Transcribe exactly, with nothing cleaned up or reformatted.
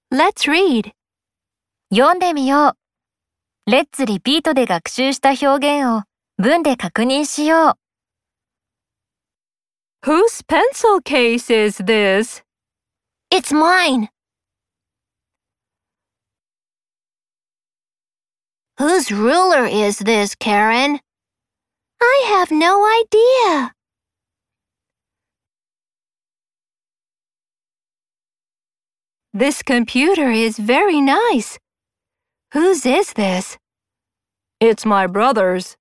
Let's read. 読んでみよう。レッツリピートで学習した表現を文で確認しよう。 Whose pencil case is this? It's mine. Whose ruler is this, Karen? I have no idea. This computer is very nice. Whose is this? It's my brother's.